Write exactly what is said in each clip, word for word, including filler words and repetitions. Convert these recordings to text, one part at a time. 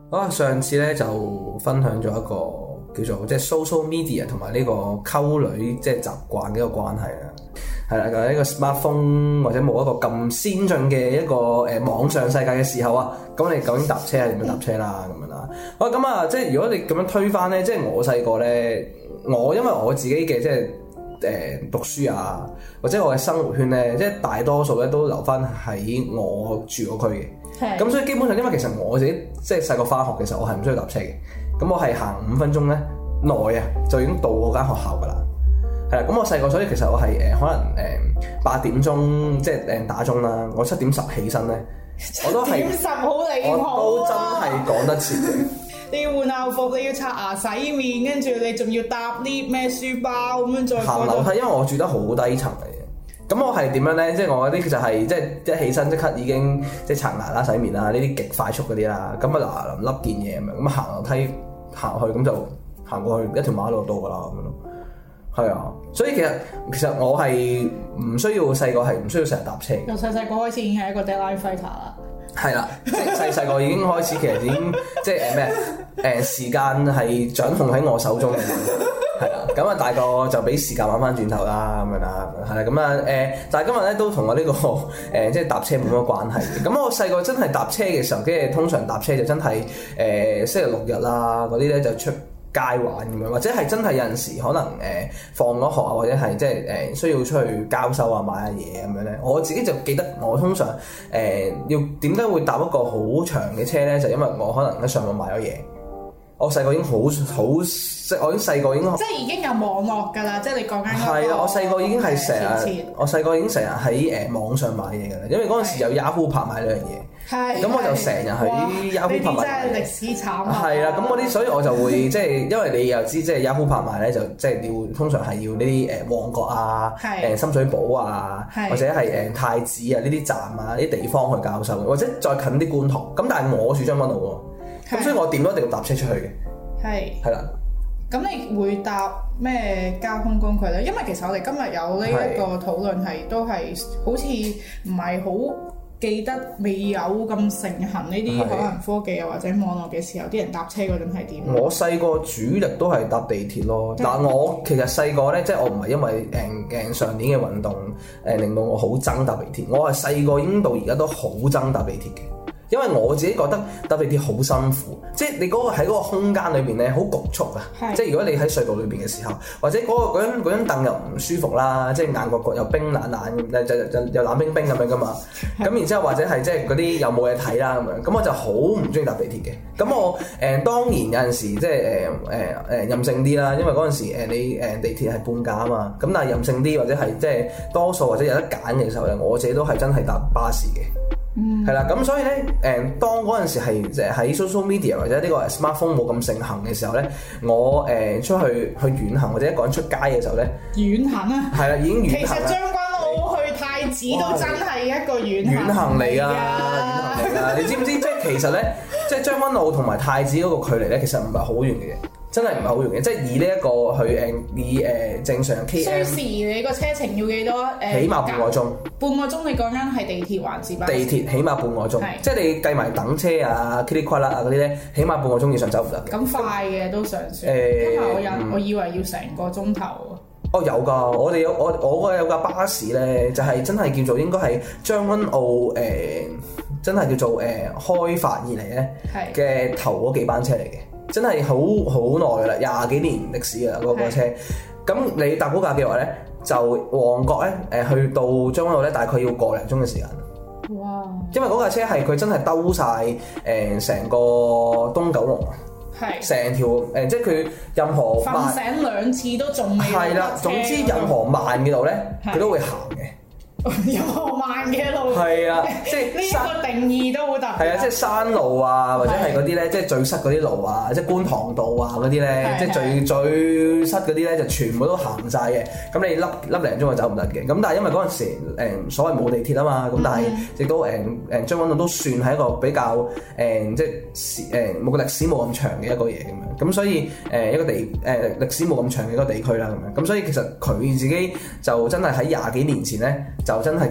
好啊，上次咧就分享咗一個叫做即係 social media 同埋呢個溝女即係習慣嘅一個關係啦。係啦，喺一個 smartphone 或者冇一個咁先進嘅一個誒、呃、網上世界嘅時候啊，咁你究竟搭車係點樣搭車啦咁樣啦？好咁啊，即係如果你咁樣推翻咧，即係我細個咧，我因為我自己嘅即係誒、呃、讀書啊，或者我嘅生活圈咧，即係大多數咧都留翻喺我住嗰區嘅。咁的所以基本上，因為其實我自己即係細個翻學嘅時候，我係唔需要搭車嘅。咁我係行五分鐘咧內啊，就已經到嗰間學校噶啦。係啦，咁我細個，所以其實我係誒、呃、可能誒八、呃、點鐘即係誒打鐘啦，我七點十起身咧，我都係七點十好離譜啊！我都真係趕得切嘅。 你要換校服，你要刷牙洗面，跟住你仲要搭 lift 咩書包咁樣再行樓梯，因為我住得好低層嚟嘅。咁我係點樣咧？即係我嗰啲就係即係一起身即刻已經即係刷牙啦、洗面啦，呢啲極快速嗰啲啦。咁啊嗱臨笠件嘢咁樣，咁行樓梯行去咁就行過去一條馬路到噶啦咁樣咯。係啊，所以其實其實我係唔需要細個係唔需要成日搭車。 由細細個開始已經係一個 deadline fighter 啦。 係啦，即係細細個已經開始，其實已經即係誒咩誒時間係掌控喺我手中嘅。係啦，咁啊大個就俾時間玩翻轉頭啦，咁樣啦，係啦，咁啊誒，但係今日咧都同我呢、這個誒、呃、即係搭車冇乜關係嘅。咁我細個真係搭車嘅時候，跟住通常搭車就真係誒、呃、星期六日啦嗰啲咧就出街玩咁樣，或者係真係有陣時可能誒、呃、放咗學啊，或者係即係誒、呃、需要出去交收啊買下嘢咁樣咧。我自己就記得我通常誒、呃、要點解會搭一個好長嘅車咧，就因為我可能喺上網買咗嘢。我細個已經好好即係我已經細個已經即係已經有網絡㗎啦，即係你講緊嗰個係啦，我細個已經係成日，我細個已經成日喺誒網上買嘢㗎啦，因為嗰陣時有 Yahoo 拍賣呢樣嘢。係，咁我就成日喺 Yahoo 拍賣。呢啲真係歷史慘啊！係啦，咁嗰啲所以我就會即係，因為你又知即係 Yahoo 拍賣咧，就即係要通常係要呢啲誒旺角啊、誒深水埗啊，或者係誒太子啊呢啲站啊呢啲地方去交收，或者再近啲觀塘。咁但係我住將軍澳喎。咁所以我點都一定要搭車出去嘅。係。係啦。 咁你會搭咩交通工具咧？因為其實我哋今日有呢一個討論係都係好似唔係好記得未有咁盛行呢啲可能科技啊或者網絡嘅時候，啲人搭車嗰陣係點？ 我細個主力都係搭地鐵咯。但係我其實細個咧，即係我唔係因為誒誒上年嘅運動誒令到我好憎搭地鐵。我係細個已經到而家都好憎搭地鐵嘅。因為我自己覺得搭地鐵好辛苦，即係你嗰個喺嗰個空間裏邊咧好局促啊！是即係如果你喺隧道裏邊嘅時候，或者嗰、嗰個嗰張嗰張凳又唔舒服啦，即係硬角角又冰冷冷咁，就就又冷冰冰咁樣噶嘛。咁是然之後或者係即係嗰啲又冇嘢睇啦咁樣，咁我就好唔中意搭地鐵嘅。咁我誒、呃、當然有陣時即係誒誒誒任性啲啦，因為嗰陣時誒你誒地鐵係半價啊嘛。咁但係任性啲或者係即係多數或者有得揀嘅時候咧，我自己都係真係搭巴士嘅。係啦，咁、嗯、所以咧，誒，當嗰陣時係誒喺 social media 或者呢個 smartphone 冇咁盛行嘅時候咧，我誒、呃、出去去遠行或者一個人出街嘅時候咧， 遠行啊，係啦，已經遠行啦。 其實將軍澳去太子都真係一個遠遠行嚟㗎，遠啊、 行嚟㗎。你知唔知？即係其實咧，即係將軍澳同埋太子嗰個距離咧，其實唔係好遠嘅。真係唔係好容易，即係以呢一個去誒以誒正常 K M。 需時你個車程要幾多？誒， 起碼半個鐘。 半個鐘你講緊係地鐵還是巴士？ 地鐵起碼半個鐘， 是即係你計埋等車啊、噼里呱啦啊嗰啲咧，起碼半個鐘以上走唔得嘅。 咁快嘅都尚算。誒、 呃， 因為我有，嗯、我以為要成個鐘頭。 哦，有㗎，我哋有我我嗰有架巴士咧，就係、是、真係叫做應該係將軍澳誒、呃，真係叫做誒、呃、開發以嚟咧嘅頭嗰幾班車嚟嘅。真係好好耐㗎啦，廿幾年歷史㗎啦嗰個車。咁是你搭嗰架嘅話咧，就旺角咧誒去到將軍澳咧，大概要個零鐘嘅時間。哇！因為嗰架車係佢真係兜晒誒成個東九龍啊，係成條誒、呃，即係佢任何瞓醒兩次都仲未係啦。總之任何慢嘅路咧，佢是都會行嘅。 任何慢嘅路係啊，即係呢個定義都好特別。 係啊，即係山路啊，或者係嗰啲咧，即係最塞嗰啲路啊，即係觀塘道啊嗰啲咧，即係最最塞嗰啲咧，就全部都行晒嘅。咁你粒粒零鐘就走唔得嘅。咁但係因為嗰陣時誒所謂冇地鐵啊嘛，咁但係亦都誒誒將軍澳都算係一個比較誒即係誒冇個歷史冇咁長嘅一個嘢咁樣。咁所以誒一個地誒歷史冇咁長嘅一個地區啦咁樣。咁所以其實佢自己就真係喺廿幾年前咧就真係叫做，所以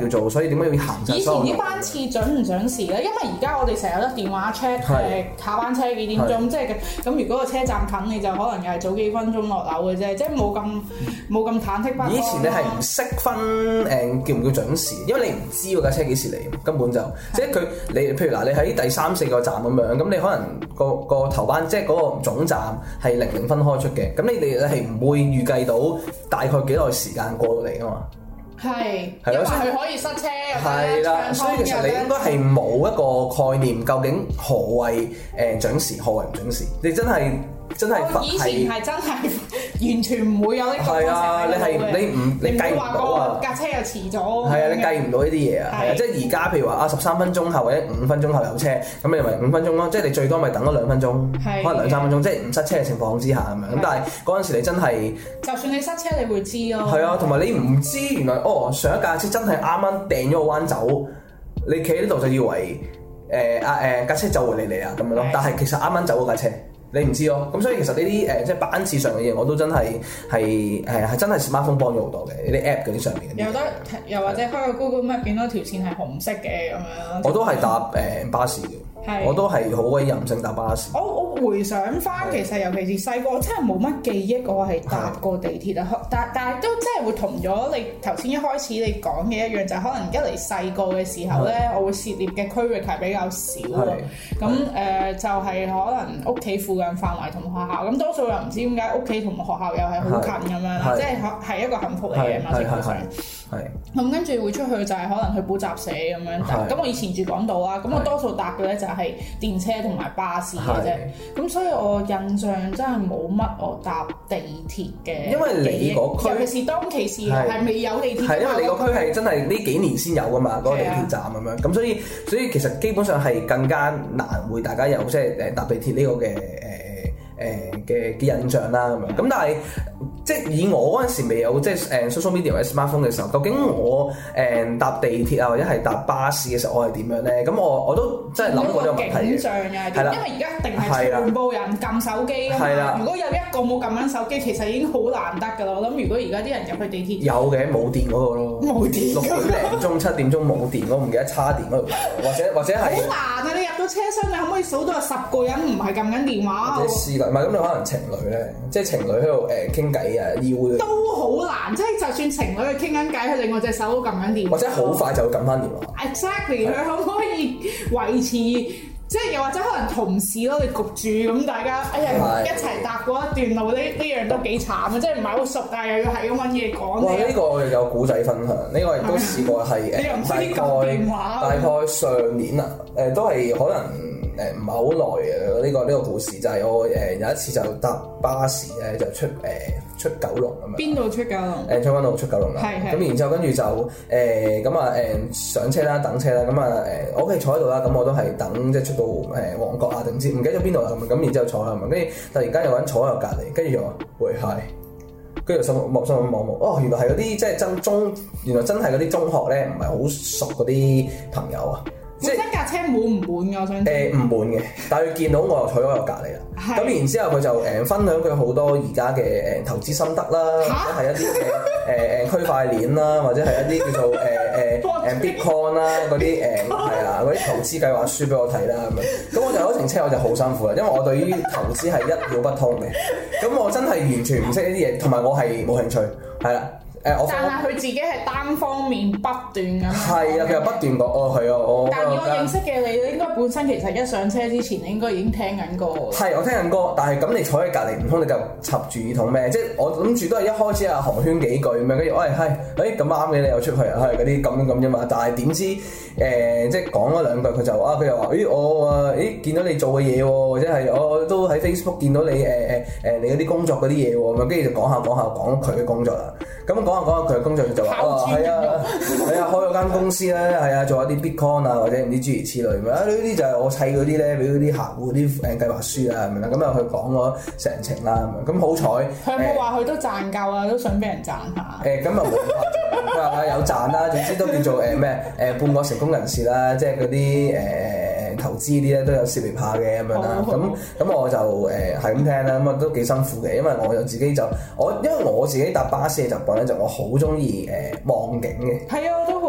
以點解要行晒以前所有路啲班次準唔準時咧？因為而家我哋成日都電話 check 誒下班車幾點鐘，即係咁。如果個車站近，你就可能又係早幾分鐘落樓嘅啫，即係冇咁冇咁忐忑不安。 以前你係唔識分誒叫唔叫準時，因為你唔知嗰架車幾時嚟，根本就即係佢你譬如嗱，你喺第三四個站咁樣，咁你可能個個頭班即係嗰個總站係零零分開出嘅，咁你哋係唔會預計到大概幾耐時間過到嚟㗎嘛？ 係，因為佢可以塞車， 係啦，所以其實你應該係冇一個概念，究竟何謂誒準時，何謂唔準時？你真係真係我以前係真係完全唔會有呢個。係啊， 你係你唔你計唔到啊！ 架車又遲咗。 係啊，你計唔到呢啲嘢啊！係啊，即係而家譬如話啊，十三分鐘後或者五分鐘後有車，咁你咪五分鐘咯。即係你最多咪等咗兩分鐘，可能兩三分鐘，即係唔塞車嘅情況之下咁樣。咁但係嗰陣時你真係，就算你塞車，你會知咯。 係啊，同埋你唔知原來哦，上一架車真係啱啱掟咗個彎走，你企喺呢度就以為誒啊誒架車就會嚟嚟啊咁樣咯。但係其實啱啱走嗰架車。你唔知咯，咁所以其實呢啲誒即係班次上嘅嘢，我都真係係誒係真係 smartphone 幫咗好多嘅，呢啲 app 嗰啲上面。 有得又或者開個 Google Map 見到條線係紅色嘅咁樣。 我都係搭誒巴士嘅，我都係好鬼任性搭巴士。 我我回想翻，其實尤其是細個，真係冇乜記憶，我係搭過地鐵啊。但但係都真係會同咗你頭先一開始你講嘅一樣，就係可能一嚟細個嘅時候咧，我會涉獵嘅區域係比較少啊。咁誒就係可能屋企附近範圍同學校，咁多數又唔知點解屋企同學校又係好近咁樣啦，即係係一個幸福嚟嘅嘛，基本上。係。咁跟住會出去就係可能去補習社咁樣，咁我以前住港島啦，咁我多數搭嘅咧就係電車同埋巴士嘅啫。咁所以我印象真係冇乜我搭地鐵嘅， 因為你嗰區， 尤其是當其時係未有地鐵。 係因為你個區係真係呢幾年先有噶嘛，嗰個地鐵站咁樣，咁所以所以其實基本上係更加難會大家有即係誒搭地鐵呢個嘅誒。誒嘅嘅印象啦咁樣，咁但係即係以我嗰陣時未有即係誒 social media 或者 smartphone 嘅時候，究竟我誒搭地鐵啊或者係搭巴士嘅時候，我係點樣咧？咁我我都真係諗過呢個問題嘅。係啦， 因為而家一定係全部人撳手機啊嘛。如果有一個冇撳緊手機，其實已經好難得㗎啦。我諗如果而家啲人入去地鐵， 有嘅冇電嗰個咯， 冇電。 六點零鐘七點鐘冇電，我唔記得叉電嗰度，或者或者係好難啊！你入到車廂，你可唔可以數到有十個人唔係撳緊電話？ 或者試過，唔係咁你可能情侶咧，即係情侶喺度誒傾偈啊，要都好難，即係就算情侶去傾緊偈，佢另外隻手都撳緊電話， 或者好快就會撳翻電話。 Exactly，佢可唔可以維持？即係又或者可能同事咯，你焗住咁大家哎呀一齊搭過一段路，呢呢樣都幾慘啊！即係唔係好熟，但係又要係咁揾嘢講。 哇！呢個我哋有古仔分享，呢個亦都試過係誒大概大概上年啊，誒都係可能誒唔係好耐嘅呢個呢個故事，就係我誒有一次就搭巴士咧，就出誒出九龍咁樣。邊度出九龍？ 誒將軍澳出九龍啦。係係。咁然之後跟住就誒咁啊誒上車啦，等車啦，咁啊誒我屋企坐喺度啦，咁我都係等即係出到誒旺角啊定唔知唔記得咗邊度啦咁，咁然之後坐喺度，跟住突然間有個人坐喺我隔離，跟住就話喂係，跟住心望心望望望，哦原來係嗰啲即係真中，原來真係嗰啲中學咧唔係好熟嗰啲朋友啊。 即係架車滿唔滿㗎？我想誒唔滿嘅，但係佢見到我又坐咗我隔離啦。咁是然之後佢就誒分享佢好多而家嘅誒投資心得啦，或者係一啲嘅誒誒區塊鏈啦，或者係一啲叫做誒誒誒 Bitcoin 啦嗰啲誒係啊嗰啲投資計劃書俾我睇啦咁樣。咁我就嗰程車我就好辛苦啦，因為我對於投資係一竅不通嘅。咁我真係完全唔識呢啲嘢，同埋我係冇興趣，係啦。 但係佢自己係單方面不斷咁。 係啊，佢又不斷講，哦係啊，我。 但係我認識嘅你，你應該本身其實一上車之前，你應該已經聽緊歌。 係，我聽緊歌，但係咁你坐喺隔離，唔通你就插住耳筒咩？即係我諗住都係一開始啊寒暄幾句咁樣，跟住喂係，誒咁啱嘅你又出去啊，係嗰啲咁咁啫嘛。但係點知誒、呃、即係講咗兩句，佢就啊佢又話，咦我啊誒見到你做嘅嘢喎，或者係我都喺 Facebook 見到你誒誒誒你嗰啲工作嗰啲嘢喎，咁跟住就講下講下講佢嘅工作啦。咁講下講下佢嘅工作就話啊係啊係啊開咗間公司咧係啊做一啲 Bitcoin 啊或者唔知諸如此類咁啊呢啲就係我砌嗰啲咧俾嗰啲客戶啲誒計劃書啊咁樣咁啊佢講咗成程啦咁樣咁好彩佢有冇話佢都賺夠啊都想俾人賺下誒咁啊冇佢話有賺啦總之都叫做誒咩誒半個成功人士啦即係嗰啲誒投資啲咧都有涉獵下嘅咁樣啦咁咁我就誒係咁聽啦咁啊都幾辛苦嘅因為我就自己就我因為我自己搭巴士嘅習慣咧就我好中意誒望景嘅係啊我都好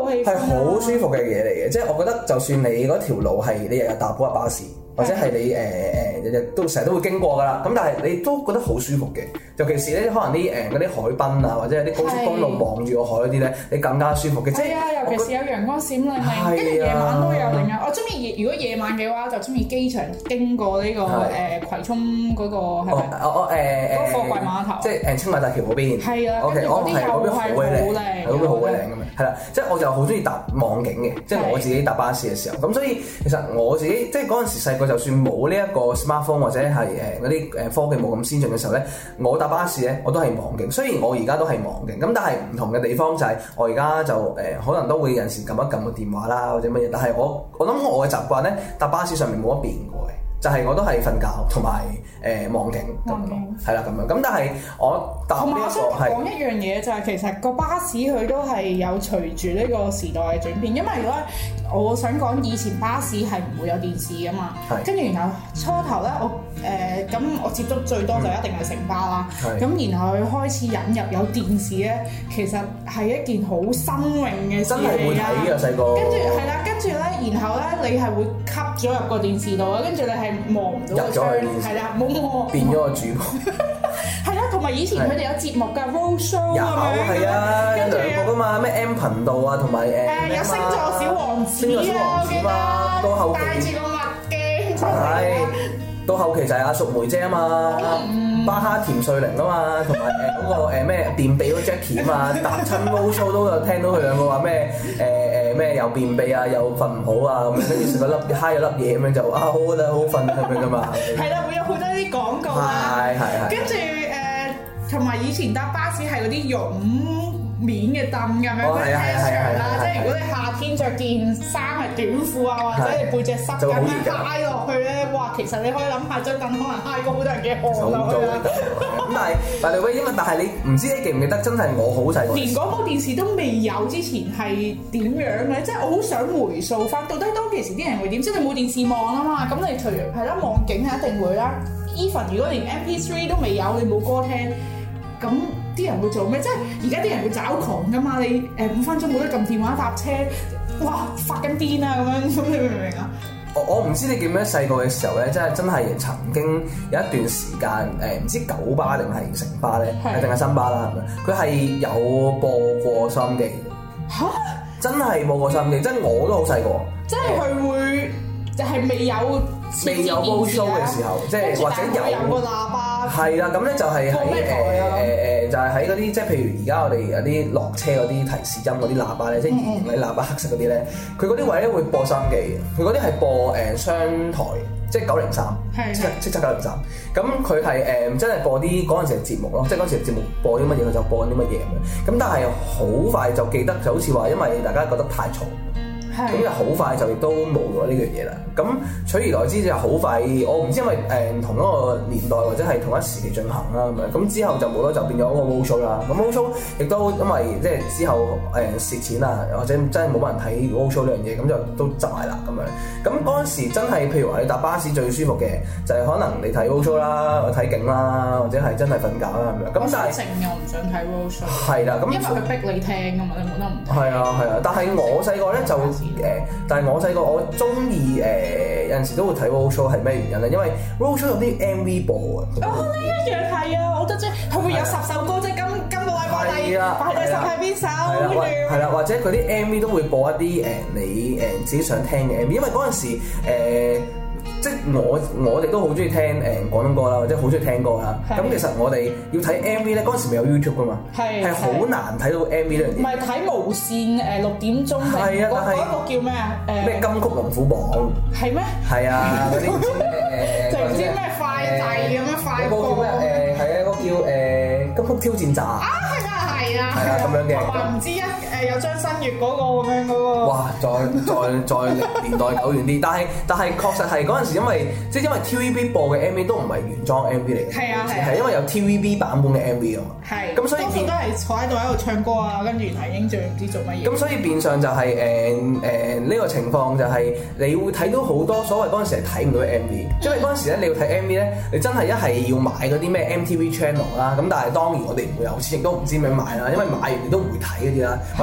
好氣氛係好舒服嘅嘢嚟嘅，即係我覺得就算你嗰條路係你日日搭嗰架巴士，或者係你誒誒日日都成日都會經過㗎啦，咁但係你都覺得好舒服嘅。尤其是咧，可能啲誒嗰啲海濱啊，或者係啲高速公路望住個海嗰啲咧，你更加舒服嘅。 係啊，尤其是有陽光閃亮亮，跟住夜晚都有另外。我中意如果夜晚嘅話，就中意機場經過呢個誒葵涌嗰個係咪？ 哦哦誒誒嗰個貨櫃碼頭， 即係誒青馬大橋嗰邊。 係啊， OK，我係嗰邊好鬼靚， 係嗰邊好鬼靚咁樣。係啦，即係我就好中意搭望景嘅，即係我自己搭巴士嘅時候。咁所以其實我自己即係嗰陣時細個，就算冇呢一個 smartphone 或者係誒嗰啲誒科技冇咁先進嘅時候咧，我搭巴士咧我都係望景。雖然我而家都係望景，咁但係唔同嘅地方就係我而家就誒、呃、可能都會有陣時撳一撳個電話啦或者乜嘢，但係我我諗我嘅習慣咧搭巴士上面冇乜變過嘅。就係我都係瞓覺同埋誒望景咁樣咯，係啦咁樣。咁但係我搭呢一個係講一樣嘢就係其實個巴士佢都係有隨住呢個時代嘅轉變，因為如果我想講以前巴士係唔會有電視噶嘛，跟住然後初頭咧我誒咁、呃、我接觸最多就一定係城巴啦，咁、嗯、然後佢開始引入有電視咧，其實係一件好新穎嘅事嚟㗎。 真係會睇㗎細個。 跟住係啦，跟住咧，然後咧你係會吸咗入個電視度啊，跟住你係望唔到個窗，係啦，冇望變咗個主播。 係啦，同埋以前佢哋有節目㗎 road show 有係啊， 跟住兩個㗎嘛，咩 M 頻道啊，同埋誒誒有星座小王子啊，我記得到後期戴住個墨鏡出嚟。 係到後期就係阿淑梅姐啊嘛，巴哈甜瑞玲啊嘛，同埋誒嗰個誒咩便秘嗰 Jackie 啊嘛，搭親 road show 都有聽到佢兩個話咩誒誒咩又便秘啊，又瞓唔好啊咁樣，跟住食咗粒揩咗粒嘢咁樣就啊好啦好瞓咁樣㗎嘛。係啦，會有好多啲廣告啦。係係係。跟住誒，同埋以前搭巴士係嗰啲絨面嘅凳咁樣嗰啲 T-shirt 啦，即係如果你夏天着件衫係短褲啊，或者你背脊濕咁樣揩落去咧，哇！其實你可以諗下張凳可能揩過好多人嘅汗落去啦。 咁但係但係喂，因為但係你唔知你記唔記得，真係我好細個， 連嗰部電視都未有之前係點樣嘅？即係我好想回溯翻，到底當其時啲人會點？即係你冇電視望啊嘛，咁你除係啦望景係一定會啦。Even 如果連 M P 三 都未有，你冇歌聽，咁啲人會做咩？即係而家啲人會找狂噶嘛？你誒五分鐘冇得撳電話搭車，哇發緊癲啊咁樣，咁你明唔明啊？ 我我唔知你記唔記得細個嘅時候咧，真係真係曾經有一段時間誒，唔知九巴定係城巴咧，定係新巴啦，係咪？佢係有播過收音機嘅。嚇！真係播過收音機，真係我都好細個。即係佢會就係未有未有 road show 嘅時候，即係或者有有個喇叭。 係啦，咁咧就係喺誒誒誒，就係喺嗰啲即係譬如而家我哋有啲落車嗰啲提示音嗰啲喇叭咧，即係圓形嗰啲喇叭黑色嗰啲咧，佢嗰啲位咧會播收音機嘅，佢嗰啲係播誒商台，即係九零三，即係即係九零三。咁佢係誒真係播啲嗰陣時嘅節目咯，即係嗰陣時嘅節目播啲乜嘢佢就播啲乜嘢咁樣。咁但係好快就記得，就好似話因為大家覺得太嘈。咁就好快就亦都冇咗呢樣嘢啦。咁取而代之就好快，我唔知因為誒、呃、同一個年代或者係同一時期進行啦咁樣。咁之後就冇咗，就變咗嗰個 road show 啦。咁 road show 亦都因為即係之後誒蝕、呃、錢啊，或者真係冇乜人睇 road show 呢樣嘢，咁就都執埋啦咁樣。咁嗰陣時真係譬如話你搭巴士最舒服嘅就係、是、可能你睇 road show 啦，睇景啦，或者係真係瞓覺啦咁樣。咁但係靜又唔想睇 road show。係啦，咁因為佢逼你聽㗎嘛，你冇得唔聽。 係啊係啊，但係我細個咧就。誒，但係我細個我中意誒有陣時都會睇 road show 係咩原因咧？因為 road show 有啲 M V 播啊。 哦，呢一樣係啊，我覺得即係佢會有十首歌，即係今今個禮拜第排第十係邊首？跟住係啦，或者佢啲 M V 都會播一啲誒你誒自己想聽嘅 M V，因為嗰陣時誒。即係我我哋都好中意聽誒廣東歌啦，或者好中意聽歌啦。咁其實我哋要睇 M V 咧，嗰陣時未有 YouTube 噶嘛，係好難睇到 M V 呢樣嘢。 唔係睇無線誒六點鐘定嗰嗰一個叫咩啊？誒咩金曲龍虎榜？係咩？係啊，嗰啲誒就唔知咩快遞咁樣快播。 嗰個叫咩誒？係啊，嗰個叫誒金曲挑戰站。啊，係啊，係啊，係啊，咁樣嘅。 話唔知一誒有張新月嗰個咁樣嗰個。哇！ 再再再年代久遠啲，但係但係確實係嗰陣時，因為即係因為 T V B 播嘅 M V 都唔係原裝 M V 嚟嘅。係啊係。係因為有 T V B 版本嘅 M V 啊嘛。係。咁所以多數都係坐喺度喺度唱歌啊，跟住係影像唔知做乜嘢。咁所以變相就係誒誒呢個情況就係你會睇到好多所謂嗰陣時係睇唔到嘅 M V，因為嗰陣時咧你要睇 M V 咧，你真係一係要買嗰啲咩 M T V Channel 啦，咁但係當然我哋唔會有錢，亦都唔知點樣買啦，因為買完你都唔會睇嗰啲啦，或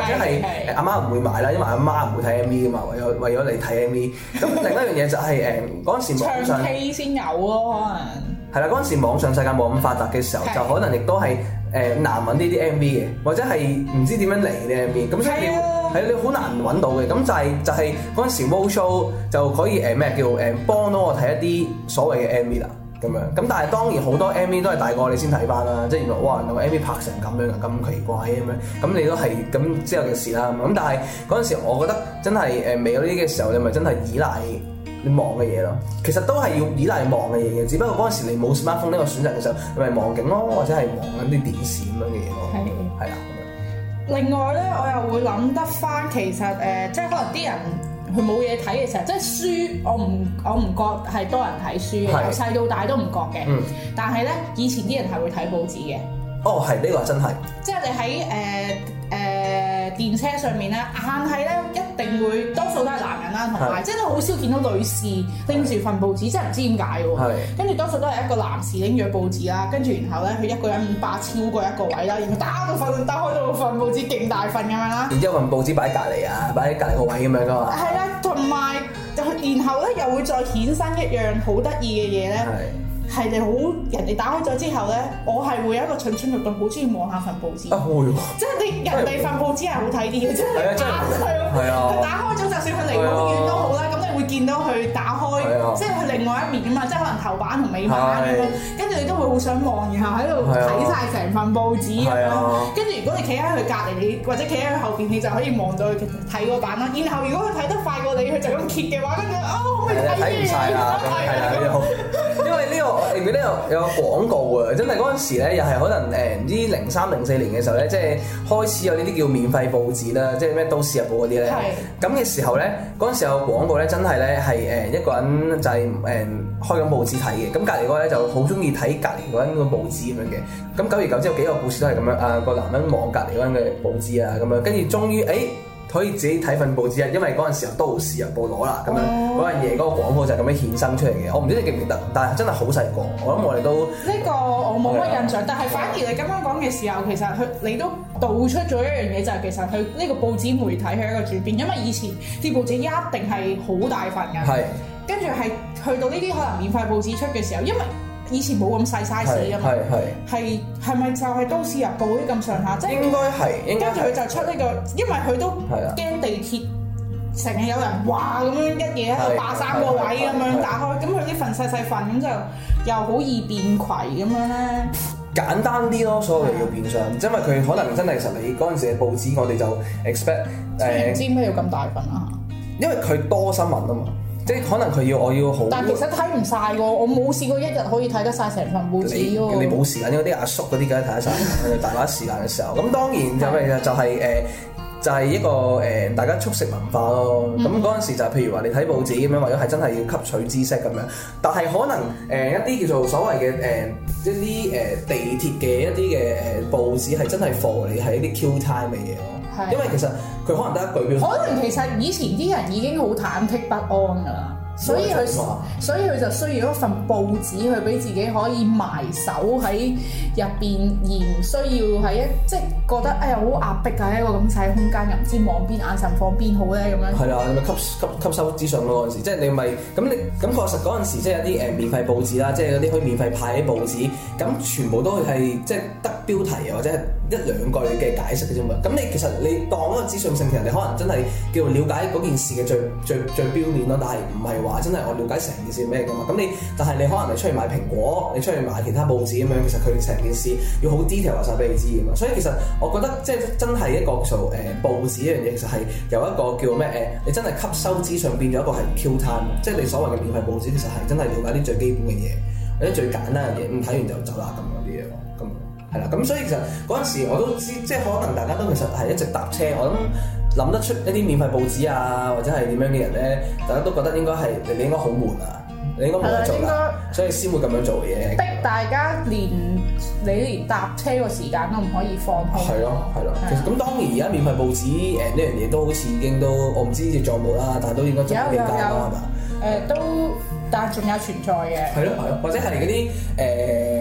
者係阿媽唔會買啦，因為阿媽唔會睇 M V 噶嘛，為咗為咗你睇 M V。咁另一樣嘢就係誒嗰陣時網上唱 K 先有咯，可能係啦，嗰陣時網上世界冇咁發達嘅時候，就可能亦都係誒難揾呢啲 M V 嘅，或者係唔知點樣嚟啲 M V。咁所以你係你好難揾到嘅。咁就係就係嗰陣時 Roadshow 就可以誒咩叫誒幫到我睇一啲所謂嘅 M V 啦。咁樣，咁但係當然好多 M V 都係大個你先睇翻啦，即係原來哇，原來 M V 拍成咁樣啊，咁奇怪咁樣，咁你都係咁之後嘅事啦。咁但係嗰陣時，我覺得真係誒未有呢啲嘅時候，你咪真係依賴你望嘅嘢咯。其實都係要依賴望嘅嘢嘅，只不過嗰陣時你冇 smartphone 呢個選擇嘅時候，你咪望景咯，或者係望緊啲電視咁樣嘅嘢咯。係係啦。 另外咧，我又會諗得翻，其實誒、呃，即係可能啲人。佢冇嘢睇嘅時候，即係書，我唔我唔覺係多人睇書嘅，由細到大都唔覺嘅。嗯、但係咧，以前啲人係會睇報紙嘅。哦，係呢、呢個真係。即係你喺誒誒電車上面咧，硬係咧一定會多數都係男人啦，同埋即係都好少見到女士拎住份報紙，真係唔知點解喎。跟住多數都係一個男士拎住報紙啦，跟住然後咧佢一個人霸超過一個位啦，然後打到份打開到份報紙勁大份咁樣啦。然之後份報紙擺喺隔離啊，擺喺隔離個位咁樣噶嘛。係啦，同埋然後咧又會再衍生一樣好得意嘅嘢咧。係你好，人哋打開咗之後咧，我係會有一個蠢蠢欲動，好中意望下份報紙。啊會喎！即係你人哋份報紙係好睇啲嘅，即係你打開，佢打開咗，就算佢離好遠都好啦，咁你會見到佢打開，即係佢另外一面啊嘛，即係可能頭版同尾版咁樣，跟住你都會好想望，然後喺度睇晒成份報紙咁樣。跟住如果你企喺佢隔離，你或者企喺佢後邊，你就可以望到佢睇個版啦。然後如果佢睇得快過你，佢就咁揭嘅話，跟住啊，我咪睇唔晒啦，係啦，因為呢個。我記得有有個廣告啊，真係嗰陣時咧，又係可能誒唔知零三零四年嘅時候咧，即係開始有呢啲叫免費報紙啦，即係咩都市日報嗰啲咧。係。咁嘅時候咧，嗰陣時有個廣告咧，真係咧係誒一個人就係誒開緊報紙睇嘅，咁隔離嗰個咧就好中意睇隔離嗰人個報紙咁樣嘅。咁久而久之有幾個故事都係咁樣啊，個男人望隔離嗰人嘅報紙啊，咁樣跟住終於誒。可以自己睇份報紙啊，因為嗰陣時候都市日報攞啦，咁樣嗰樣嘢嗰個廣告就係咁樣衍生出嚟嘅。我唔知你記唔記得，但係真係好細個，我諗我哋都呢個我冇乜印象，的但係反而你咁樣講嘅時候，其實佢你都道出咗一樣嘢，就係其實佢呢個報紙媒體係一個轉變，因為以前啲報紙一定係好大份㗎，係跟住係去到呢啲可能免費報紙出嘅時候，因為以前冇咁細 size 㗎嘛，係係咪就係都市日報啲咁上下？即係應該係，跟住佢就出呢個，因為佢都驚地鐵成日有人話咁樣一嘢喺度霸三個位咁樣打開，咁佢啲份細細份咁就又好易變攜咁樣咧。簡單啲咯，所有嘢要變相，因為佢可能真係其實你嗰陣時嘅報紙，我哋就 expect 誒，唔知咩要咁大份啊？因為佢多新聞啊嘛。即係可能佢要我要好，但其實睇唔晒喎，我冇試過一日可以睇得晒成份報紙喎。你冇時間，因為啲阿叔嗰啲梗係睇得晒，大把時間嘅時候。咁當然就係就係誒，就係一個誒大家速食文化咯。咁嗰陣時就譬如話你睇報紙咁樣，或者係真係要吸取知識咁樣。但係可能誒一啲叫做所謂嘅誒一啲誒地鐵嘅一啲嘅誒報紙係真係 for 你係一啲 Q time 嘅嘢咯。因為其實佢可能得一句標，可能其實以前啲人已經好忐忑不安㗎啦，所以佢所以佢就需要一份報紙去俾自己可以埋手喺入邊，而唔需要喺一即係覺得哎呀好壓迫㗎，一個咁細空間又唔知望邊眼神放邊好咧咁樣。係啊，你咪吸吸吸收資訊咯嗰陣時，即係你咪咁你咁確實嗰陣時即係有啲誒免費報紙啦，即係有啲可以免費派啲報紙，咁全部都係即係得標題或者係一兩句嘅解釋嘅啫嘛。咁你其實你當嗰個資訊性，其實你可能真係叫做了解嗰件事嘅最最最表面咯，但係唔係話真係我了解成件事咩㗎嘛。咁你但係你可能你出去買蘋果，你出去買其他報紙咁樣，其實佢成件事要好 detail 話晒俾你知㗎嘛。所以其實我覺得即係真係一個做誒報紙一樣嘢，其實係有一個叫咩誒，你真係吸收資訊變咗一個係 Q time，即係你所謂嘅免費報紙，其實係真係了解啲最基本嘅嘢，或者最簡單嘅嘢，咁睇完就走啦咁嗰啲嘢咯，咁。係啦，咁所以其實嗰陣時我都知，即係可能大家都其實係一直搭車，我諗諗得出一啲免費報紙啊，或者係點樣嘅人咧，大家都覺得應該係你你應該好悶啊，你應該冇得做啦，所以先會咁樣做嘅嘢。逼大家連你連搭車個時間都唔可以放空。係咯，係咯。其實咁當然而家免費報紙誒呢樣嘢都好似已經都我唔知仲有冇啦，但係都應該仲有幾間啦，係嘛？誒都，但係仲有存在嘅。係咯，係咯，或者係嗰啲誒。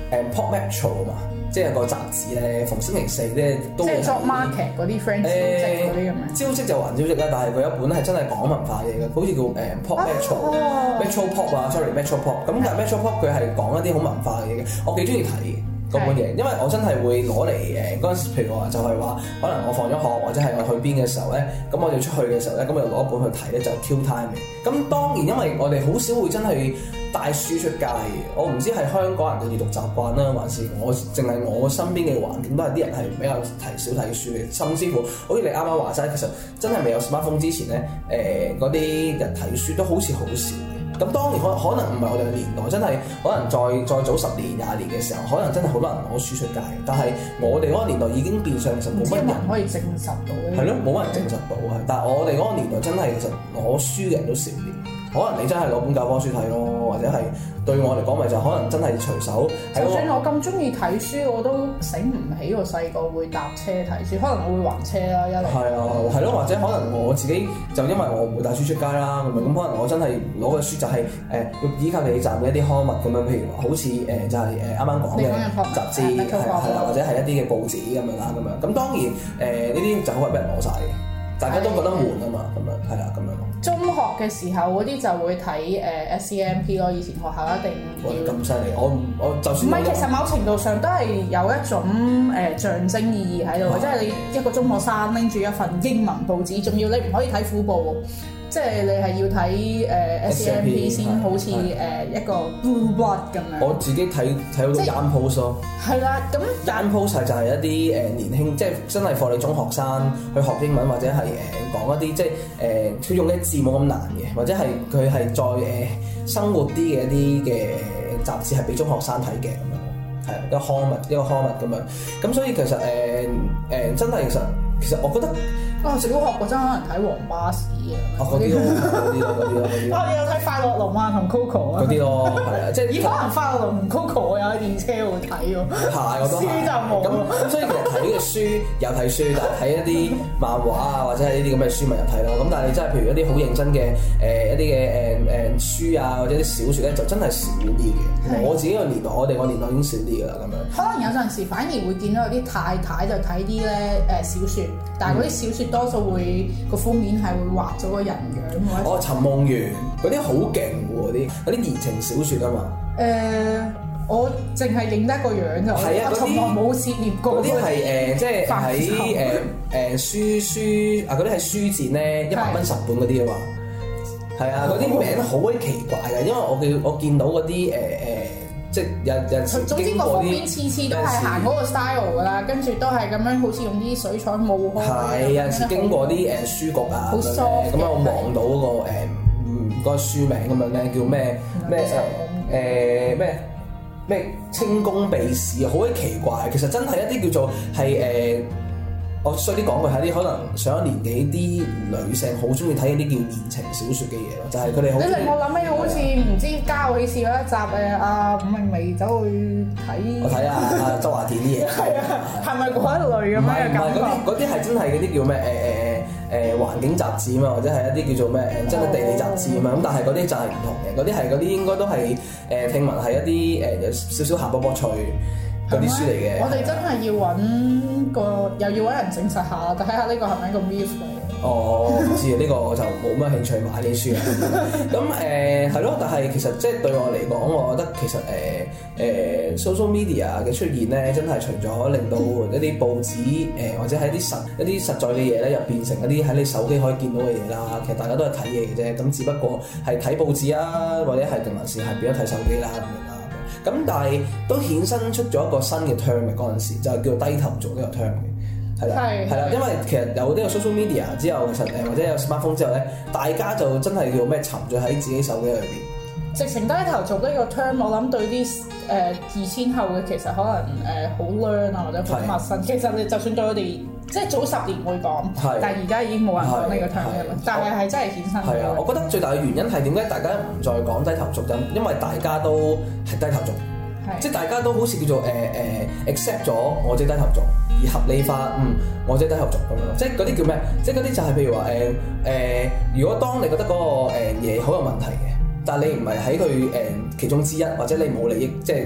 誒 Pop Metro 啊嘛，即係個雜誌咧，逢星期四咧都會即係 job market 嗰啲 friend 招職嗰啲咁樣。 招職就還招職啦，但係佢一本係真係講文化嘢嘅，好似叫誒 Pop Metro、Metro Pop 啊 ，sorry Metro Pop。咁但係 Metro Pop 佢係講一啲好文化嘅嘢嘅，我幾中意睇嘅。嗰本嘢，因為我真係會攞嚟誒嗰陣時，譬如話就係話，可能我放咗學或者係我去邊嘅時候咧，咁我哋出去嘅時候咧，咁我就攞一本去睇咧，就 Q time 嘅。咁當然因為我哋好少會真係帶書出街嘅，我唔知係香港人嘅閱讀習慣啦，還是我淨係我身邊嘅環境都係啲人係比較睇少睇書嘅，甚至乎好似你啱啱話齋，其實真係未有 smartphone 之前咧，誒嗰啲人睇書都好似好少。咁當然可可能唔係我哋嘅年代，真係可能再再早十年廿年嘅時候，可能真係好多人攞書出街。但係我哋嗰個年代已經變相其實冇乜人可以證實到嘅。 係咯，冇乜人證實到啊！但係我哋嗰個年代真係其實攞書嘅人都少啲。可能你真係攞本教科書睇咯，或者係對我嚟講咪就可能真係隨手。 就算我咁中意睇書，我都醒唔起我細個會搭車睇書，可能我會還車啦一嚟。係啊，係咯，或者可能我自己就因為我唔會帶書出街啦，咁咁可能我真係攞嘅書就係、是、誒、呃、要依靠地鐵站嘅一啲刊物咁樣，譬如好似誒、呃、就係誒啱啱講嘅雜誌係係啦，或者係一啲嘅報紙咁樣啦咁樣。咁當然誒呢啲就好係俾人攞晒嘅，大家都覺得悶啊嘛，咁樣係啦咁樣。 中學嘅時候嗰啲就會睇誒 S C M P 咯，以前學校一定要。 咁犀利，我我就算唔係，其實某程度上都係有一種誒、呃、象徵意義喺度，即係你一個中學生拎住一份英文報紙，仲要你唔可以睇虎報喎。即係你係要睇誒 S C M P 先，好似誒一個 blue blood 咁樣。我自己睇睇好多 Young Post 咯。係啦，咁 Young Post 就係一啲誒年輕，即係真係課你中學生去學英文，或者係誒講一啲即係誒佢用嘅字冇咁難嘅，或者係佢係再誒生活啲嘅一啲嘅雜誌係俾中學生睇嘅咁樣，係一個刊物一個刊物咁樣。咁所以其實誒誒、呃呃、真係其實其實我覺得。啊！小學嗰陣可能睇黃巴士啊，嗰啲咯，嗰啲咯，嗰啲咯，嗰啲。我有睇快樂龍啊同 Coco 啊。嗰啲咯，係啊，即係。咦？可能快樂龍同 Coco 我有喺電車度睇喎。係，我都係。書就冇。咁咁所以其實睇嘅書有睇書，但係睇一啲漫畫啊或者係呢啲咁嘅書咪有睇咯。咁但係你真係譬如一啲好認真嘅誒一啲嘅誒誒書啊或者啲小説咧，就真係少啲嘅。我自己個年代，我哋個年代已經少啲㗎啦，咁樣。可能有陣時反而會見到有啲太太就睇啲咧誒小説，但係嗰啲小説。多數會個封面係會畫咗個人樣喎。哦，尋夢園嗰啲好勁喎，啲嗰啲言情小説啊嘛。誒、呃，我淨係認得個樣就。係啊，從來冇涉獵過。嗰啲係誒，即係喺誒誒書書啊，嗰啲係書展咧，一百蚊十本嗰啲啊嘛。係啊，嗰啲名好鬼奇怪嘅，因為我見我見到嗰啲誒誒。即係有有時總之個封面次次都係行嗰個 style 㗎啦，跟住都係咁樣，好似用啲水彩霧開。係有陣時經過啲誒書局啊，咁樣咁我望到嗰個誒嗯嗰個書名咁樣咧，叫咩咩誒誒咩咩清宮秘事，好鬼奇怪。其實真係一啲叫做係誒。我衰啲講句係啲可能上咗年紀啲女性好中意睇啲叫言情小説嘅嘢咯，就係佢哋好。你令我諗起好似唔知《家有喜事》嗰一集誒，阿伍詠薇走去睇。我睇下阿周華健啲嘢。係啊，係咪嗰一類咁樣嘅感覺？唔係，嗰啲嗰啲係真係嗰啲叫咩誒誒誒誒環境雜誌啊嘛，或者係一啲叫做咩誒真係地理雜誌啊嘛。咁但係嗰啲就係唔同嘅，嗰啲係嗰啲應該都係誒聽聞係一啲誒有少少鹹卜卜脆嗰啲書嚟嘅。我哋真係要揾個又要揾人證實下，睇下呢個係咪一個 myth 嚟嘅。哦，唔知啊，呢個我就冇乜興趣買呢書啊。咁誒係咯，但係其實即係對我嚟講，我覺得其實誒誒、呃呃、social media 嘅出現咧，真係除咗令到一啲報紙誒、呃、或者係一啲實一啲實在嘅嘢咧，又變成一啲喺你手機可以見到嘅嘢啦。其實大家都係睇嘢嘅啫，咁只不過係睇報紙啊，或者係定還是係變咗睇手機啦咁樣啦。咁但係都衍生出咗一個新嘅 term 嘅嗰陣時，就係叫做低頭族呢個 term 嘅，係啦，係啦，因為其實有呢個 social media 之後，其實誒或者有 smartphone 之後咧，大家就真係叫咩沉醉喺自己手機裏邊。直情低頭族呢個 term，我諗對啲誒二千後嘅其實可能誒好 learn 啊或者好陌生。其實你就算對我哋即係早十年會講，但係而家已經冇人講呢個 term 嘅啦。但係係真係衍生。係啊，我覺得最大嘅原因係點解大家唔再講低頭族咁？因為大家都係低頭族，即係大家都好似叫做誒誒 accept 咗我自己低頭族，而合理化嗯我自己低頭族咁樣咯。即係嗰啲叫咩？即係嗰啲就係譬如話誒誒，如果當你覺得嗰個誒嘢好有問題嘅。但係你唔係喺佢誒其中之一，或者你冇利益，即係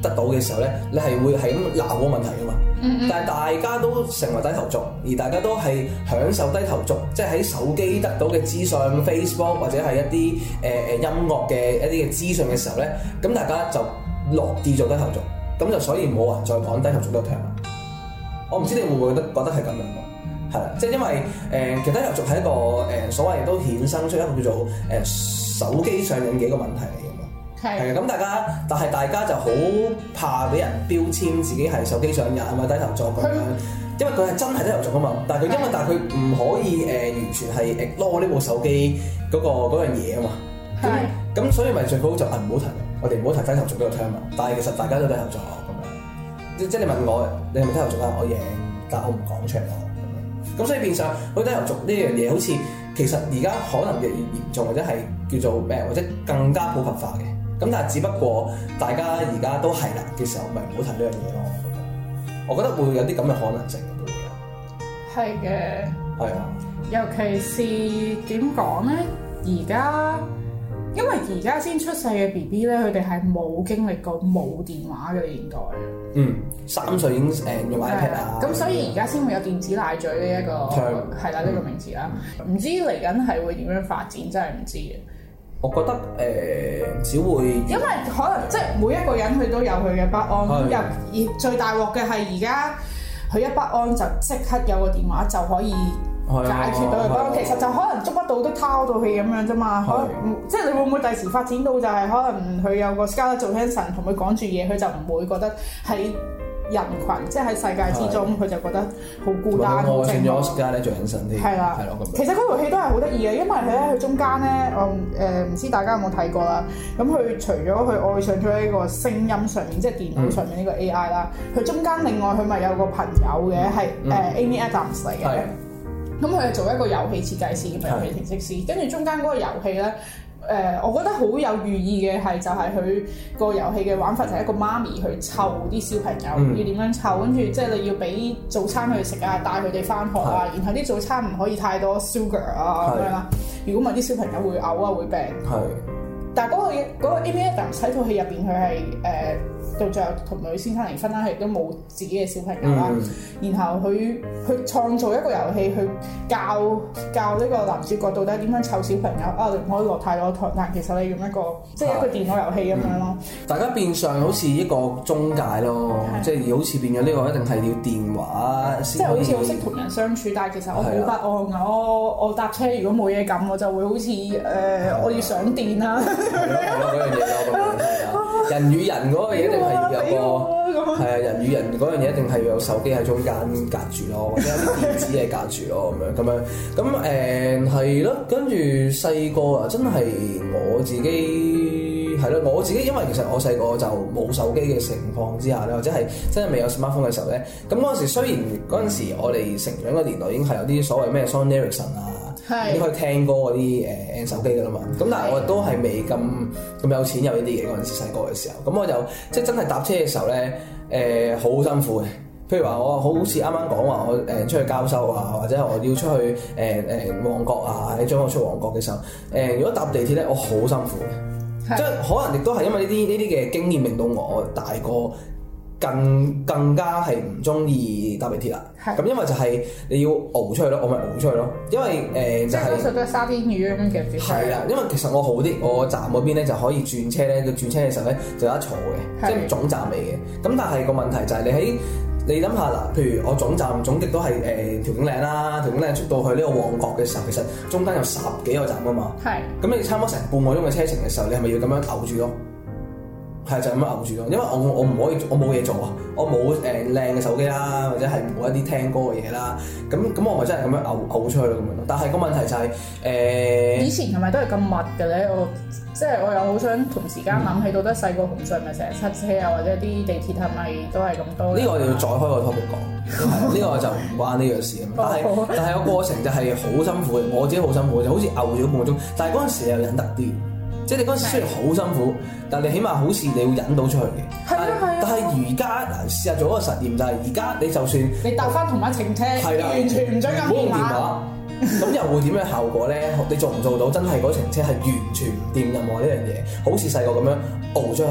得到嘅時候咧，你係會係咁鬧嗰個問題噶嘛。 嗯嗯但係大家都成為低頭族，而大家都係享受低頭族，即係喺手機得到嘅資訊 ，Facebook 或者係一啲誒誒音樂嘅一啲嘅資訊嘅時候咧，咁大家就落地做低頭族，咁就所以冇人再講低頭族呢個 term。我唔知你會唔會覺得覺得係咁樣喎？係啦，即係因為誒、呃，其實低頭族係一個誒、呃、所謂都衍生出一個叫做誒、呃、手機上癮嘅一個問題嚟嘅嘛。係係咁大家，但係大家就好怕俾人標籤自己係手機上癮啊嘛，低頭族咁樣。因為佢係真係低頭族啊嘛，但係佢因為但係佢唔可以誒、呃、完全係 ignore 呢部手機嗰、嗰個樣嘢啊嘛。係。咁所以咪最好就係唔好提，我哋唔好提低頭族呢個 term 啊。但係其實大家都低頭族咁樣。即即係你問我，你係咪低頭族啊？我贏，但係我唔講出嚟咯。咁樣。咁所以變相，好低頭族呢樣嘢好似其實而家可能越嚟越嚴重，或者係叫做咩，或者更加普及化嘅。咁但係只不過大家而家都係啦嘅時候，咪唔好提呢樣嘢咯。我覺得會有啲咁嘅可能性都會有。 係嘅。 係啊。 尤其是點講咧？而家因為而家先出世嘅 B B 咧，佢哋係冇經歷過冇電話嘅年代。 嗯，三歲已經誒用 iPad 啊。 咁所以而家先會有電子奶嘴呢一個係啦呢個名詞啦。唔知嚟緊係會點樣發展，真係唔知嘅。 我覺得誒、呃、只會，因為可能即係每一個人佢都有佢嘅不安，又而最大鑊嘅係而家佢一不安就即刻有個電話就可以解決到佢不安。其實就可能捉不到都掏到氣咁樣啫嘛。可能即係你會唔會第時發展到就係可能佢有個 Scarlett Johansson同佢講住嘢，佢就唔會覺得喺人群，即係喺世界之中，佢就覺得好孤單。 我選咗 Scarlett Johansson啲， 係啦， 係咯咁。 其實嗰套戲都係好得意嘅，因為咧佢中間咧，我誒唔知大家有冇睇過啦。咁佢除咗佢愛上咗呢個聲音上面，即係電腦上面呢個 A I 啦，佢、嗯、中間另外佢咪有個朋友嘅，係誒、嗯呃、Amy Adams 嚟嘅。咁佢係做一個遊戲設計師，咁遊戲程式師，跟住中間嗰個遊戲咧。誒、呃，我覺得好有寓意嘅係就係佢個遊戲嘅玩法就係一個媽咪去湊啲小朋友，嗯、要點樣湊，跟住即係你要俾早餐佢食啊，帶佢哋翻學啊，然後啲早餐唔可以太多 sugar 啊咁樣啦。如果唔係啲小朋友會嘔啊，會病。係。但係、那、嗰個嗰、那個 Amy Adams 喺套戲入邊，佢係誒到最後同女先生離婚啦，佢亦都冇自己嘅小朋友啦。嗯、然後佢去創造一個遊戲去教教呢個男主角到底點樣湊小朋友啊，你唔可以落太多糖，但其實你用一個即係一個電腦遊戲咁樣咯。大家變相好似一個中介咯，即係好似變咗呢個一定係要電話先可以。即係好似好識同人相處，但係其實我好不安啊！我我搭車如果冇嘢撳，我就會好似誒、呃、我要上電啊！係咯係咯，嗰樣嘢咯，人與人嗰個嘢一定係要有個係啊，人與人嗰樣嘢一定係要有手機喺中間隔住咯，或者有啲電子嘢隔住咯，咁樣咁樣咁誒係咯。跟住細個啊，真係我自己係咯，我自己因為其實我細個就冇手機嘅情況之下咧，或者係真係未有 smartphone 嘅時候咧，咁嗰陣時雖然嗰陣時我哋成長嘅年代已經係有啲所謂咩 Sony Ericsson 啊。已經可以聽歌嗰啲誒手機㗎啦嘛，咁但係我都係未咁咁有錢有呢啲嘢嗰陣時細個嘅時候，咁我就即係真係搭車嘅時候咧誒好辛苦嘅。譬如話我好似啱啱講話我誒出去交收啊，或者我要出去誒誒、呃、旺角啊，你將我出旺角嘅時候，誒、呃、如果搭地鐵咧，我好辛苦嘅，的即係可能亦都係因為呢啲呢啲嘅經驗令到我大個。更更加係唔中意搭地鐵啦，咁的因為就係你要熬出去咯，我咪熬出去咯，因為誒、呃、就係、是、多數都係沙甸魚咁樣嘅。係啦，因為其實我好啲，我站嗰邊咧就可以轉車咧，佢轉車嘅時候咧就有得坐嘅，的即係總站嚟嘅。咁但係個問題就係你喺你諗下嗱，譬如我總站總極都係誒調景嶺啦，調景嶺出到去呢個旺角嘅時候，其實中間有十幾個站㗎嘛。係的。咁你差唔多成半個鐘嘅車程嘅時候，你係咪要咁樣熬住咯？係就咁樣熬住咯，因為我我唔可以，我冇嘢做啊，我冇誒靚嘅手機啦，或者係冇一啲聽歌嘅嘢啦，咁咁我咪真係咁樣熬熬出去咯咁樣咯。但係個問題就係、是、誒，呃、以前係咪都係咁密嘅咧？我即係我又好想同時間諗起，到底細個紅隧咪成日塞車啊，或者啲地鐵係咪都係咁多？呢個我哋要再開個 topic 講，呢個就唔關呢樣事啊。但係但係個過程就係好辛苦嘅，我自己好辛苦，就好似熬咗半個鐘，但係嗰陣時又忍得啲。即係你嗰陣時雖然好辛苦，但係你起碼好似你會忍到出去嘅。係啊係啊。但係而家嗱，試下做一個實驗，就係而家你就算你搭翻同一程車，係啦，完全唔準撳電話，咁又會點樣效果咧？你做唔做到真係嗰程車係完全唔掂任何呢樣嘢？好似細個咁樣熬出去，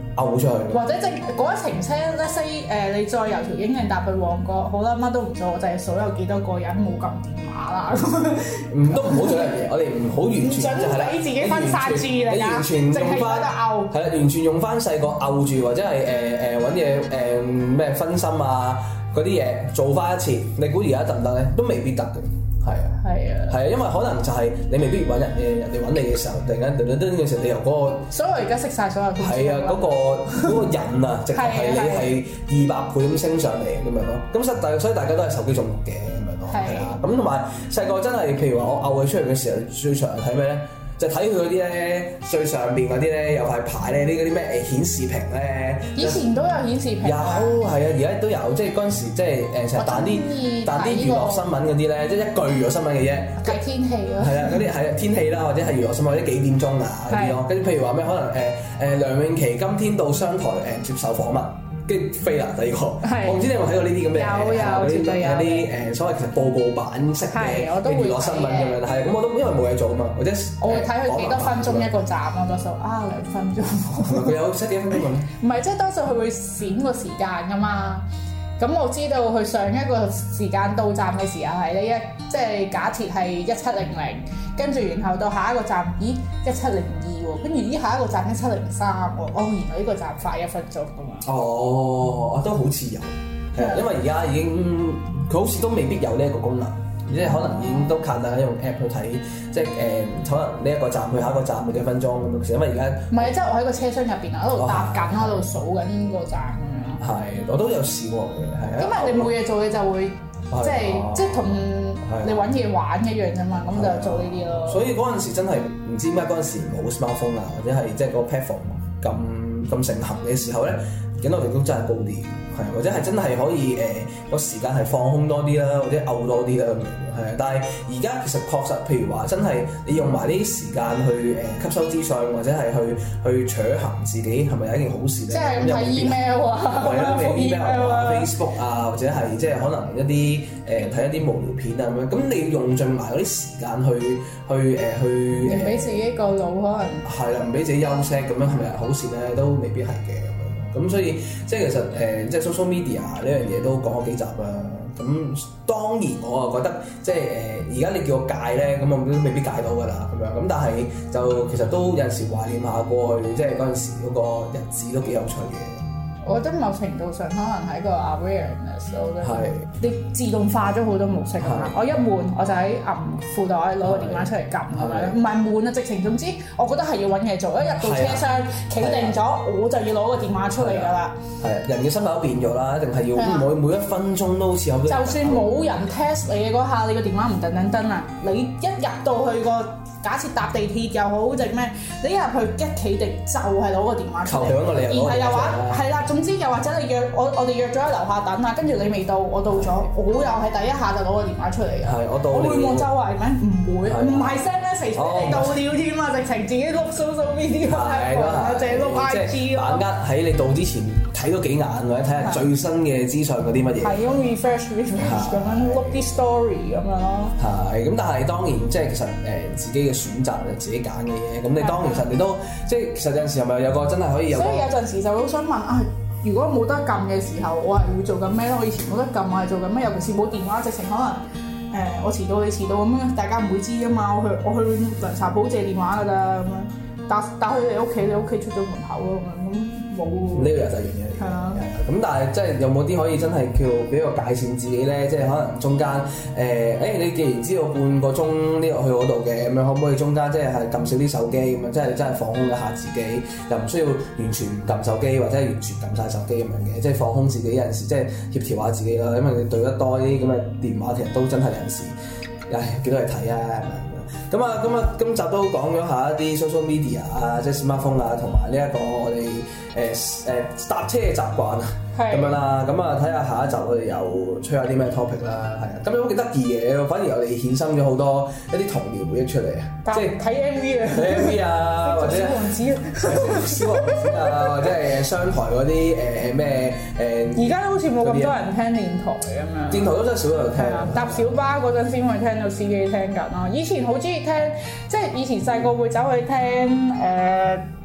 嘔出去。 或者即係嗰一程車咧西誒，你再由條英徑搭去旺角，好啦，乜都唔做，我就係數有幾多個人冇撳電話啦。 唔都唔好做一樣嘢，我哋唔好完全就係啦， 俾自己分散注意力， 你完全用翻嘔， 係啦，完全用翻細個嘔住或者係誒誒揾嘢誒咩分心啊嗰啲嘢做翻一次，你估而家得唔得咧？都未必得嘅。係啊， 係啊， 係啊，因為可能就係你未必揾人嘅，人哋揾你嘅時候，突然間噔噔噔嘅時候，你由嗰個， 所以我而家識晒所有。 係啊，嗰個嗰個人啊，直頭係你係二百倍咁升上嚟咁樣咯。咁實大，所以大家都係手機中毒嘅咁樣咯，係啊。咁同埋細個真係，譬如話我嘔佢出嚟嘅時候，最常睇咩咧？就睇佢嗰啲咧，最上邊嗰啲咧有塊牌咧，呢嗰啲咩誒顯示屏咧。 以前都有顯示屏。 有係啊，而家都有，即係嗰陣時即係誒成日彈啲彈啲娛樂新聞嗰啲咧，即係一句娛樂新聞嘅啫。 睇天氣咯。 係啊，嗰啲係天氣啦，或者係娛樂新聞，或者幾點鐘啊嗰啲咯。跟住譬如話咩，可能誒誒梁詠琪今天到商台誒接受訪問。跟住飛啦，第二個，我唔知你有冇睇過呢啲咁嘅， 有有絕對有啲誒所謂其實報告版式嘅娛樂新聞咁樣，係咁我都因為冇嘢做啊嘛，或者我會睇佢幾多分鐘一個站咯，多數啊兩分鐘。 佢有 set 幾多分鐘咁？ 唔係，即係多數佢會閃個時間噶嘛。咁我知道佢上一個時間到站嘅時候係呢一，即係假設係一七零零，跟住然後到下一個站，咦一七零二喎，跟住咦下一個站一七零三喎，哦原來呢個站快一分鐘噶嘛。 哦，都好似有，係啊，因為而家已經佢好似都未必有呢一個功能，即係可能已經都靠大家用 app 去睇，即係誒、呃、可能呢一個站去下一個站要幾分鐘咁樣，因為而家唔係，即係我喺個車廂入邊啊，喺度搭緊，喺度數緊個站。 係，我都有試過嘅，係啊。 因為你冇嘢做，你就會即係即係同你揾嘢玩一樣啫嘛，咁就做呢啲咯。 所以嗰陣時真係唔知點解嗰陣時冇 smartphone 啊，或者係即係個 platform 咁咁盛行嘅時候咧，警覺性都真係高啲，係或者係真係可以誒個、呃、時間係放空多啲啦，或者嘔多啲啦咁樣，係。但係而家其實確實，譬如話真係你用埋呢啲時間去誒、呃、吸收資訊，或者係去去取行自己係咪有一件好事咧？ 即係睇 email 啊， 係啦，email 啊 ，Facebook 啊，或者係即係可能一啲誒睇一啲無聊片啊咁樣。咁你要用盡埋嗰啲時間去去誒、呃、去唔俾自己個腦可能係啦，唔俾自己休息咁樣係咪好事咧？都未必係嘅。咁所以即係其實誒、呃，即係 social media 呢樣嘢都講咗幾集啦。咁當然我啊覺得即係誒，而、呃、家你叫我戒咧，咁我都未必戒到㗎啦。咁樣咁，但係就其實都有陣時懷念下過去，即係嗰陣時嗰個日子都幾有趣嘅。 我覺得某程度上可能係一個 awareness 咯，係你自動化咗好多模式啊嘛。我一悶我就喺揞褲袋攞個電話出嚟撳，係咪？唔係悶啊，直情總之我覺得係要揾嘢做。一入到車廂企定咗，我就要攞個電話出嚟㗎啦。係人嘅心態都變咗啦，一定係要每每一分鐘都好似有。就算冇人 test 你嘅嗰下，你個電話唔噔噔噔啊！你一入到去個假設搭地鐵又好定咩，你一入去一企定就係攞個電話出嚟。然後又話係啦，總之又或者你約我，我哋約咗喺樓下等啊，跟住你未到，我到咗，我又係第一下就攞個電話出嚟嘅。係，我到。我會望周圍咩？唔會，唔係 send message 你到了添啊，直情自己碌 social media 啊，淨係碌 I G 咯。把握喺你到之前睇多幾眼，或者睇下最新嘅資訊嗰啲乜嘢。係咁 refresh refresh 咁樣碌啲 story 咁樣咯。係，咁但係當然即係其實誒自己嘅選擇就自己揀嘅嘢，咁你當其實你都即係其實有陣時係咪有個真係可以有個？所以有陣時就好想問啊，如果冇得撳嘅時候，我係會做緊咩咧？我以前冇得撳，我係做緊咩？尤其是冇電話，直情可能誒、呃、我遲到你遲到咁樣，大家唔會知㗎嘛。我去我去涼茶鋪借電話㗎啦，咁樣打打去你屋企，你屋企出咗門口咯，咁冇。呢個又第二樣嘢嚟。係啊。咁但係即係有冇啲可以真係叫俾個界線自己咧？即係可能中間誒，誒、呃欸、你既然知道半個鐘呢個去嗰度嘅，咁樣可唔可以中間即係係撳少啲手機咁樣？即係真係放空一下自己，又唔需要完全唔撳手機，或者係完全撳晒手機咁樣嘅，即係放空自己有陣時，即係協調下自己啦。因為你對得多啲咁嘅電話，其實都真係有陣時，唉幾多嚟睇啊！咁啊，咁啊，今集都講咗下一啲 social media 啊，即係 smartphone 啊，同埋呢一個我哋誒誒搭車嘅習慣啊，咁樣啦。咁啊，睇下下一集我哋又吹下啲咩 topic 啦，係啊。咁有冇幾得意嘅？反而我哋衍生咗好多一啲童年回憶出嚟啊，即係睇 M V 啊，睇 M V 啊，或者小王子啊，小王子啊，或者係商台嗰啲誒咩誒。而家好似冇咁多人聽電台咁樣。電台都真係少人聽。搭小巴嗰陣先會聽到司機聽緊咯。以前好中意聽，即係以前細個會走去聽誒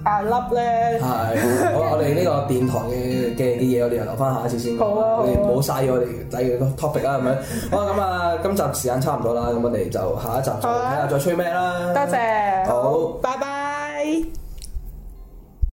大粒咧。 係，好，我哋呢個電台嘅嘅嘅嘢，我哋又留翻下一次先講。 好啊， 我哋唔好嘥咗我哋第二個 topic 啦，咁樣。好啊，咁啊，今集時間差唔多啦，咁我哋就下一集再睇下再吹咩啦。 多謝， 好， 拜拜。